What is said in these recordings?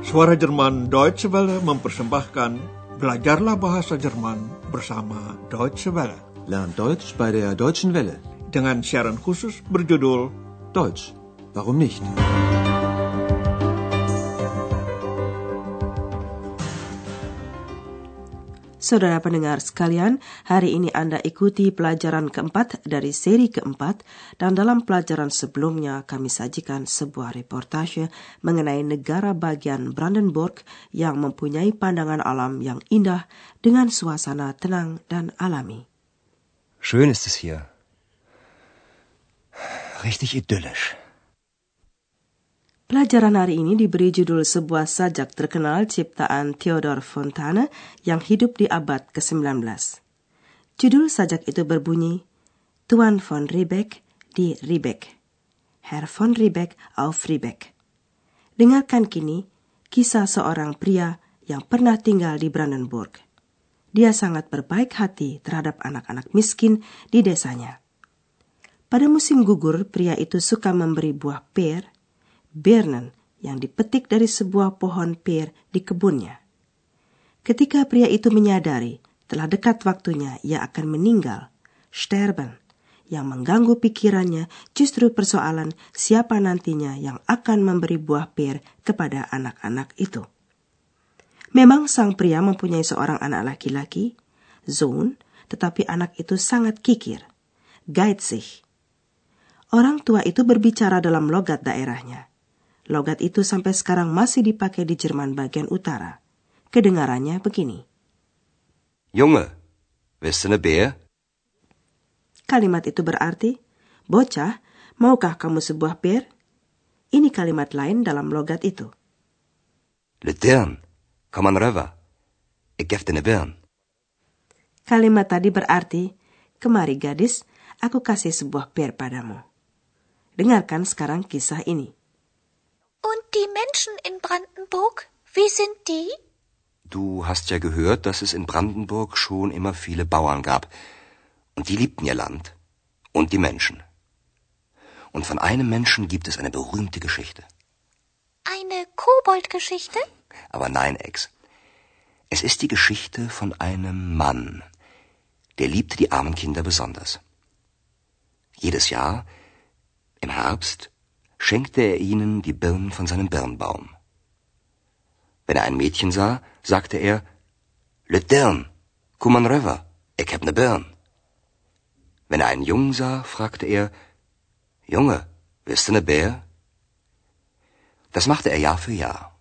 Suara Jerman Deutsche Welle mempersembahkan Belajarlah Bahasa Jerman bersama Deutsche Welle. Lernt Deutsch bei der Deutschen Welle. Dengan siaran khusus berjudul Deutsch, warum nicht? Saudara pendengar sekalian, hari ini Anda ikuti pelajaran keempat dari seri keempat, dan dalam pelajaran sebelumnya kami sajikan sebuah reportase mengenai negara bagian Brandenburg yang mempunyai pandangan alam yang indah dengan suasana tenang dan alami. Schön ist es hier. Richtig idyllisch. Pelajaran hari ini diberi judul sebuah sajak terkenal ciptaan Theodor Fontane yang hidup di abad ke-19. Judul sajak itu berbunyi, Tuan von Riebeck di Riebeck, Herr von Riebeck auf Riebeck. Dengarkan kini kisah seorang pria yang pernah tinggal di Brandenburg. Dia sangat berbaik hati terhadap anak-anak miskin di desanya. Pada musim gugur, pria itu suka memberi buah per, Birnen, yang dipetik dari sebuah pohon pir di kebunnya. Ketika pria itu menyadari telah dekat waktunya ia akan meninggal, sterben, yang mengganggu pikirannya justru persoalan siapa nantinya yang akan memberi buah pir kepada anak-anak itu. Memang sang pria mempunyai seorang anak laki-laki, Sohn, tetapi anak itu sangat kikir, geizig. Orang tua itu berbicara dalam logat daerahnya. Logat itu sampai sekarang masih dipakai di Jerman bagian utara. Kedengarannya begini. Junge, willst du ne Beer? Kalimat itu berarti, bocah, maukah kamu sebuah bir? Ini kalimat lain dalam logat itu. Le Dirn, komm an röver. Ik gef dir ne Birn. Kalimat tadi berarti, kemari gadis, aku kasih sebuah bir padamu. Dengarkan sekarang kisah ini. Und die Menschen in Brandenburg, wie sind die? Du hast ja gehört, dass es in Brandenburg schon immer viele Bauern gab. Und die liebten ihr Land. Und die Menschen. Und von einem Menschen gibt es eine berühmte Geschichte. Eine Koboldgeschichte? Aber nein, Ex. Es ist die Geschichte von einem Mann. Der liebte die armen Kinder besonders. Jedes Jahr, im Herbst, schenkte er ihnen die Birnen von seinem Birnbaum. Wenn er ein Mädchen sah, sagte er, Le Dirn, komm an röver, ik heb ne Birn. Wenn er einen Jungen sah, fragte er, Junge, willst du ne Beer? Das machte er Jahr für Jahr.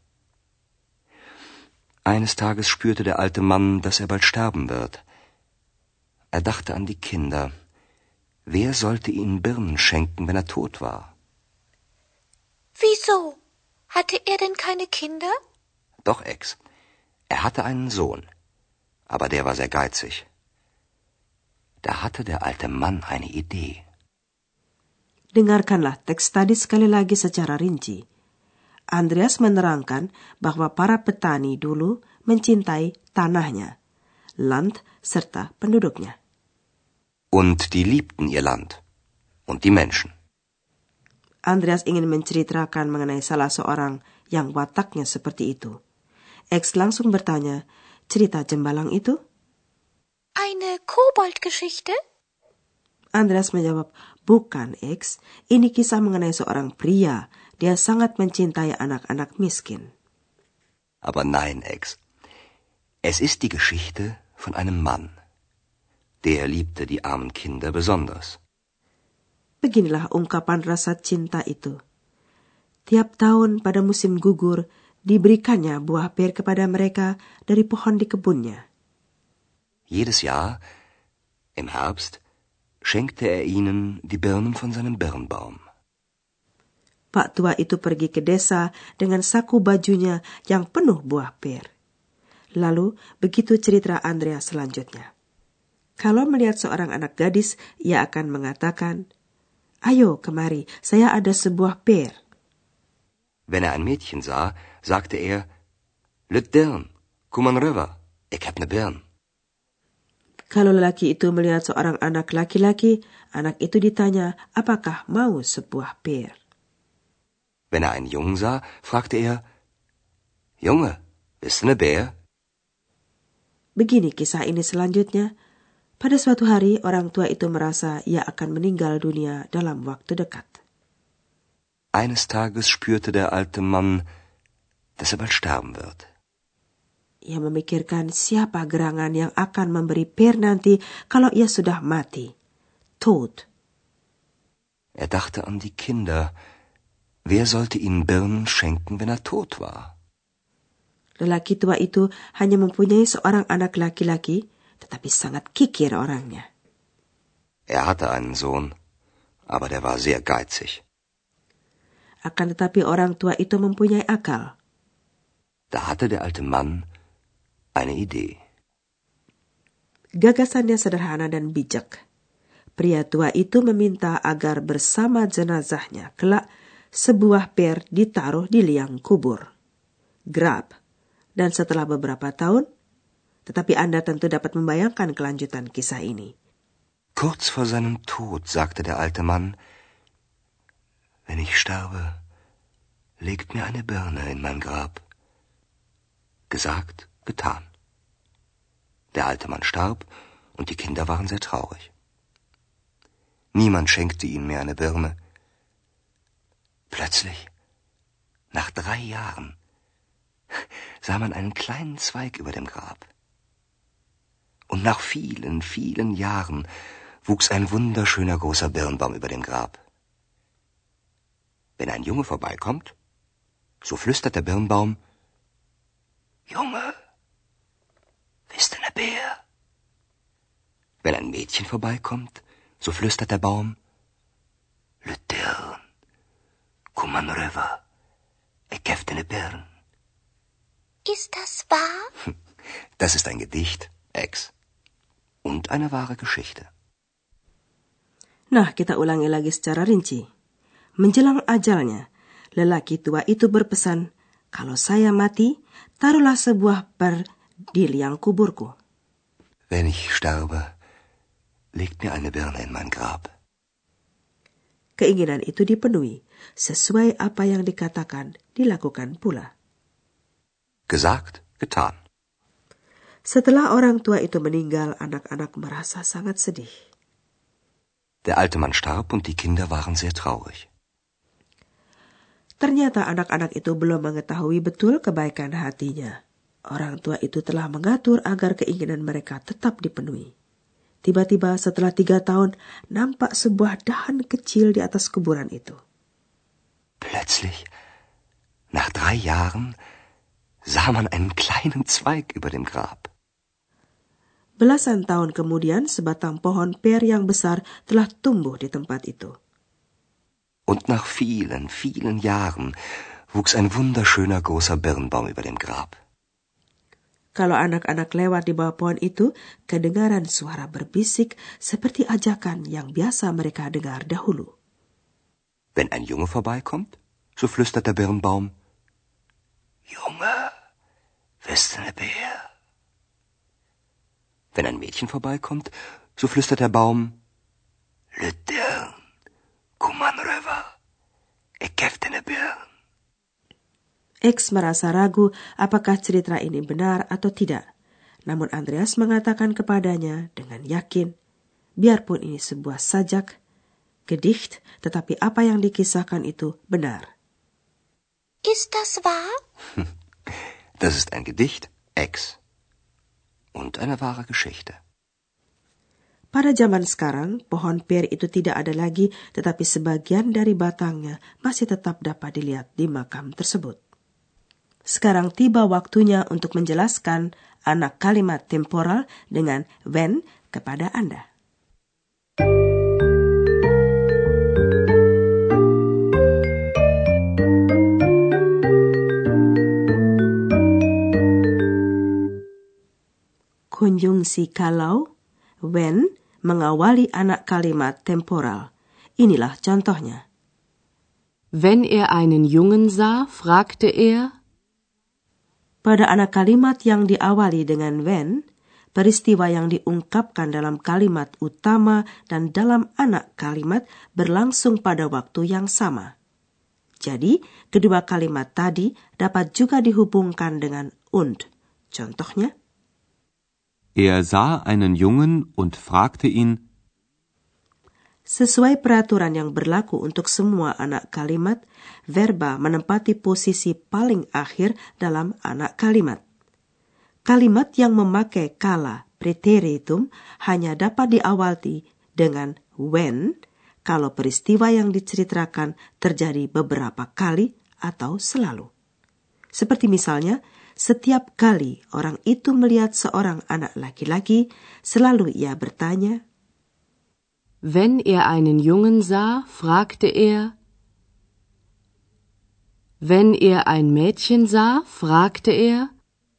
Eines Tages spürte der alte Mann, dass er bald sterben wird. Er dachte an die Kinder. Wer sollte ihnen Birnen schenken, wenn er tot war? Wieso? Hatte er denn keine Kinder? Doch, Ex. Er hatte einen Sohn. Aber der war sehr geizig. Da hatte der alte Mann eine Idee. Dengarkanlah teks tadi sekali lagi secara rinci. Andreas menerangkan bahwa para petani dulu mencintai tanahnya, Land serta penduduknya. Und die liebten ihr Land. Und die Menschen. Andreas ingin menceritakan mengenai salah seorang yang wataknya seperti itu. X langsung bertanya, cerita Jembalang itu? Eine Koboldgeschichte? Andreas menjawab, bukan X, ini kisah mengenai seorang pria. Dia sangat mencintai anak-anak miskin. Aber nein, Ex. Es ist die Geschichte von einem Mann. Der liebte die armen Kinder besonders. Beginilah ungkapan rasa cinta itu. Tiap tahun pada musim gugur, diberikannya buah pir kepada mereka dari pohon di kebunnya. Jedes Jahr, im Herbst, schenkte er ihnen die Birnen von seinem Birnbaum. Pak tua itu pergi ke desa dengan saku bajunya yang penuh buah pir. Lalu, begitu cerita Andrea selanjutnya. Kalau melihat seorang anak gadis, ia akan mengatakan, Ayo, kemari, saya ada sebuah pir. Wenn er ein Mädchen sah, sagte er, Le Dirn, komm an röver, ik heb ne Birn. Kalau lelaki itu melihat seorang anak laki-laki, anak itu ditanya, apakah mau sebuah pir? Wenn er einen Jungen sah, fragte er, Junge, bist du ne Bär? Begini kisah ini selanjutnya. Pada suatu hari, orang tua itu merasa ia akan meninggal dunia dalam waktu dekat. Eines Tages spürte der alte Mann, dass er bald sterben wird. Ia memikirkan siapa gerangan yang akan memberi Per nanti kalau ia sudah mati. Tot. Er dachte an die Kinder. Wer sollte ihnen Birnen schenken, wenn er tot war? Lelaki tua itu hanya mempunyai seorang anak laki-laki, tetapi sangat kikir orangnya. Er hatte einen Sohn, aber der war sehr geizig. Akan tetapi orang tua itu mempunyai akal. Da hatte der alte Mann eine Idee. Gagasannya sederhana dan bijak. Pria tua itu meminta agar bersama jenazahnya kelak sebuah Per ditaruh di liang kubur. Grab. Dan setelah beberapa tahun, tetapi Anda tentu dapat membayangkan kelanjutan kisah ini. Kurz vor seinem Tod sagte der alte Mann, wenn ich sterbe, legt mir eine Birne in mein Grab. Gesagt, getan. Der alte Mann starb und die Kinder waren sehr traurig. Niemand schenkte ihnen mehr eine Birne. Plötzlich, nach 3 Jahren, sah man einen kleinen Zweig über dem Grab. Und nach vielen, vielen Jahren wuchs ein wunderschöner großer Birnbaum über dem Grab. Wenn ein Junge vorbeikommt, so flüstert der Birnbaum, Junge, bist du ne Bär? Wenn ein Mädchen vorbeikommt, so flüstert der Baum, Le Dirn, Kuman River, ik geef ne Birn. Ist das wahr? Das ist ein Gedicht, Ex. Und eine wahre Geschichte. Nah, kita ulangi lagi secara rinci. Menjelang ajalnya, lelaki tua itu berpesan, kalau saya mati, taruhlah sebuah per di liang kuburku. Wenn ich sterbe, legt mir eine Birne in mein Grab. Keinginan itu dipenuhi, sesuai apa yang dikatakan, dilakukan pula. Gesagt, getan. Setelah orang tua itu meninggal, anak-anak merasa sangat sedih. Der alte Mann starb und die Kinder waren sehr traurig. Ternyata anak-anak itu belum mengetahui betul kebaikan hatinya. Orang tua itu telah mengatur agar keinginan mereka tetap dipenuhi. Tiba-tiba setelah 3 tahun, nampak sebuah dahan kecil di atas kuburan itu. Plötzlich, nach 3 Jahren, sah man einen kleinen Zweig über dem Grab. Belasan tahun kemudian, sebatang pohon Per yang besar telah tumbuh di tempat itu. Und nach vielen, vielen Jahren wuchs ein wunderschöner großer Birnbaum über dem Grab. Kalau anak-anak lewat di bawah pohon itu, kedengaran suara berbisik seperti ajakan yang biasa mereka dengar dahulu. Wenn ein Junge vorbeikommt, so flüstert der Birnbaum, Junge, bist du ne Bär? Wenn ein Mädchen vorbeikommt, so flüstert der Baum, Le Dirn, Kuman River, ik geef ne Birn. X merasa ragu apakah cerita ini benar atau tidak. Namun Andreas mengatakan kepadanya dengan yakin, biarpun ini sebuah sajak, gedicht, tetapi apa yang dikisahkan itu benar. Ist das wahr? Das ist ein Gedicht, Ex. Und eine wahre Geschichte. Pada zaman sekarang, pohon Per itu tidak ada lagi, tetapi sebagian dari batangnya masih tetap dapat dilihat di makam tersebut. Sekarang tiba waktunya untuk menjelaskan anak kalimat temporal dengan when kepada Anda. Konjungsi kalau, when, mengawali anak kalimat temporal. Inilah contohnya. Wenn er einen Jungen sah, fragte er. Pada anak kalimat yang diawali dengan when, peristiwa yang diungkapkan dalam kalimat utama dan dalam anak kalimat berlangsung pada waktu yang sama. Jadi, kedua kalimat tadi dapat juga dihubungkan dengan und. Contohnya, Er sah einen Jungen und fragte ihn. sesuai peraturan yang berlaku untuk semua anak kalimat, verba menempati posisi paling akhir dalam anak kalimat. Kalimat yang memakai kala preteritum hanya dapat diawali dengan when kalau peristiwa yang diceritakan terjadi beberapa kali atau selalu. Seperti misalnya, setiap kali orang itu melihat seorang anak laki-laki, selalu ia bertanya, Wenn er einen Jungen sah, fragte er. Wenn er ein Mädchen sah, fragte er.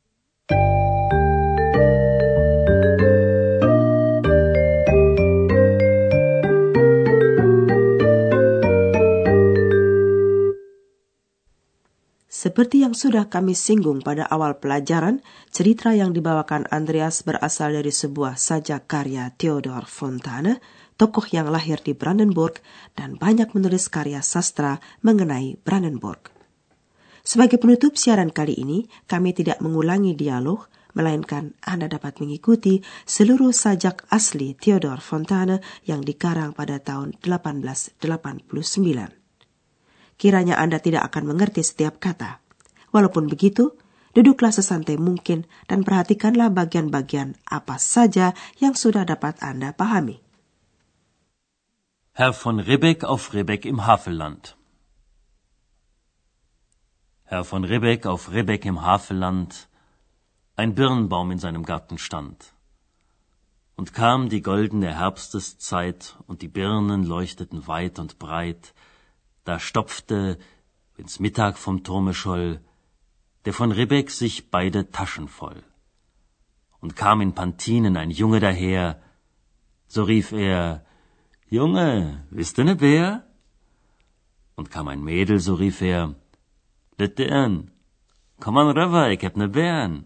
Seperti yang sudah kami singgung pada awal pelajaran, cerita yang dibawakan Andreas berasal dari sebuah sajak karya Theodor Fontane, tokoh yang lahir di Brandenburg dan banyak menulis karya sastra mengenai Brandenburg. Sebagai penutup siaran kali ini, kami tidak mengulangi dialog, melainkan Anda dapat mengikuti seluruh sajak asli Theodor Fontane yang dikarang pada tahun 1889. Kiranya Anda tidak akan mengerti setiap kata. Walaupun begitu, duduklah sesantai mungkin dan perhatikanlah bagian-bagian apa saja yang sudah dapat Anda pahami. Herr von Ribbeck auf Ribbeck im Havelland. Herr von Ribbeck auf Ribbeck im Havelland, ein Birnbaum in seinem Garten stand. Und kam die goldene Herbsteszeit, und die Birnen leuchteten weit und breit. Da stopfte, wenn's Mittag vom Turme scholl, der von Ribbeck sich beide Taschen voll. Und kam in Pantinen ein Junge daher, so rief er, Junge, bist du ne Bär? Und kam ein Mädel, so rief er, Lettern, komm an rüber, ich hab ne Bären.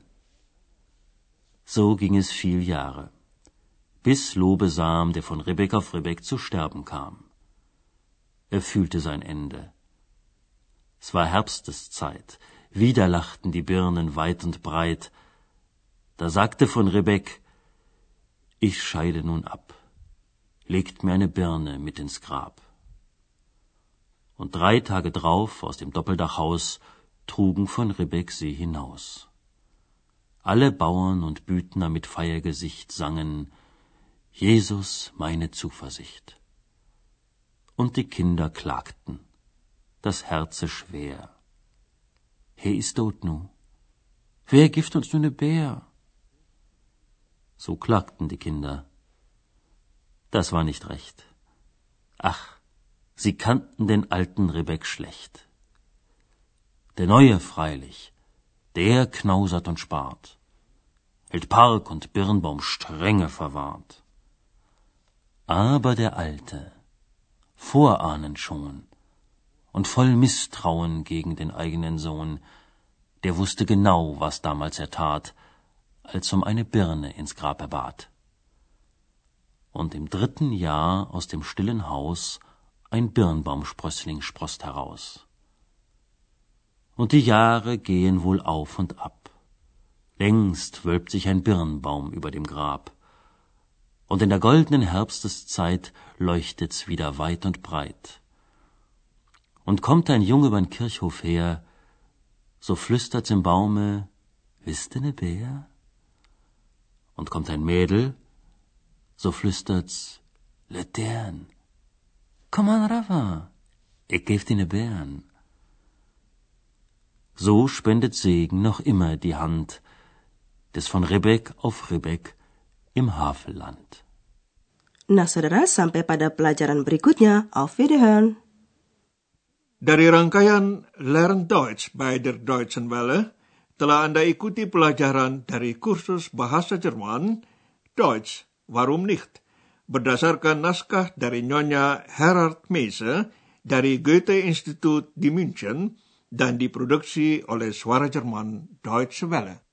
So ging es viel Jahre, bis Lobesam, der von Ribbeck auf Ribbeck zu sterben kam. Er fühlte sein Ende. Es war Herbsteszeit, wieder lachten die Birnen weit und breit. Da sagte von Ribbeck, ich scheide nun ab, legt mir eine Birne mit ins Grab. Und 3 Tage drauf aus dem Doppeldachhaus trugen von Ribbeck sie hinaus. Alle Bauern und Büdner mit Feiergesicht sangen, Jesus, meine Zuversicht. Und die Kinder klagten, das Herze schwer. He is tot nu. Wer gibt uns nu ne Bär? So klagten die Kinder. Das war nicht recht. Ach, sie kannten den alten Ribbeck schlecht. Der Neue freilich, der knausert und spart, hält Park und Birnbaum strenge verwahrt. Aber der Alte, vorahnend schon und voll Misstrauen gegen den eigenen Sohn, der wusste genau, was damals er tat, als um eine Birne ins Grab er bat. Und im 3. Jahr aus dem stillen Haus ein Birnbaumsprössling sproßt heraus. Und die Jahre gehen wohl auf und ab. Längst wölbt sich ein Birnbaum über dem Grab. Und in der goldenen Herbsteszeit leuchtet's wieder weit und breit. Und kommt ein Junge übern Kirchhof her, so flüstert's im Baume, wisst ihr ne Bär? Und kommt ein Mädel, so flüstert's, Lettern, komm an Rafa, ich geb dir ne Bären. So spendet Segen noch immer die Hand des von Ribbeck auf Ribbeck im Havelland. Nah, saudara, sampai pada pelajaran berikutnya. Auf Wiederhören. Dari rangkaian Lern Deutsch bei der Deutschen Welle, telah Anda ikuti pelajaran dari kursus bahasa Jerman, Deutsch, warum nicht? Berdasarkan naskah dari Nyonya Herard Meise dari Goethe-Institut di München dan diproduksi oleh Suara Jerman Deutsche Welle.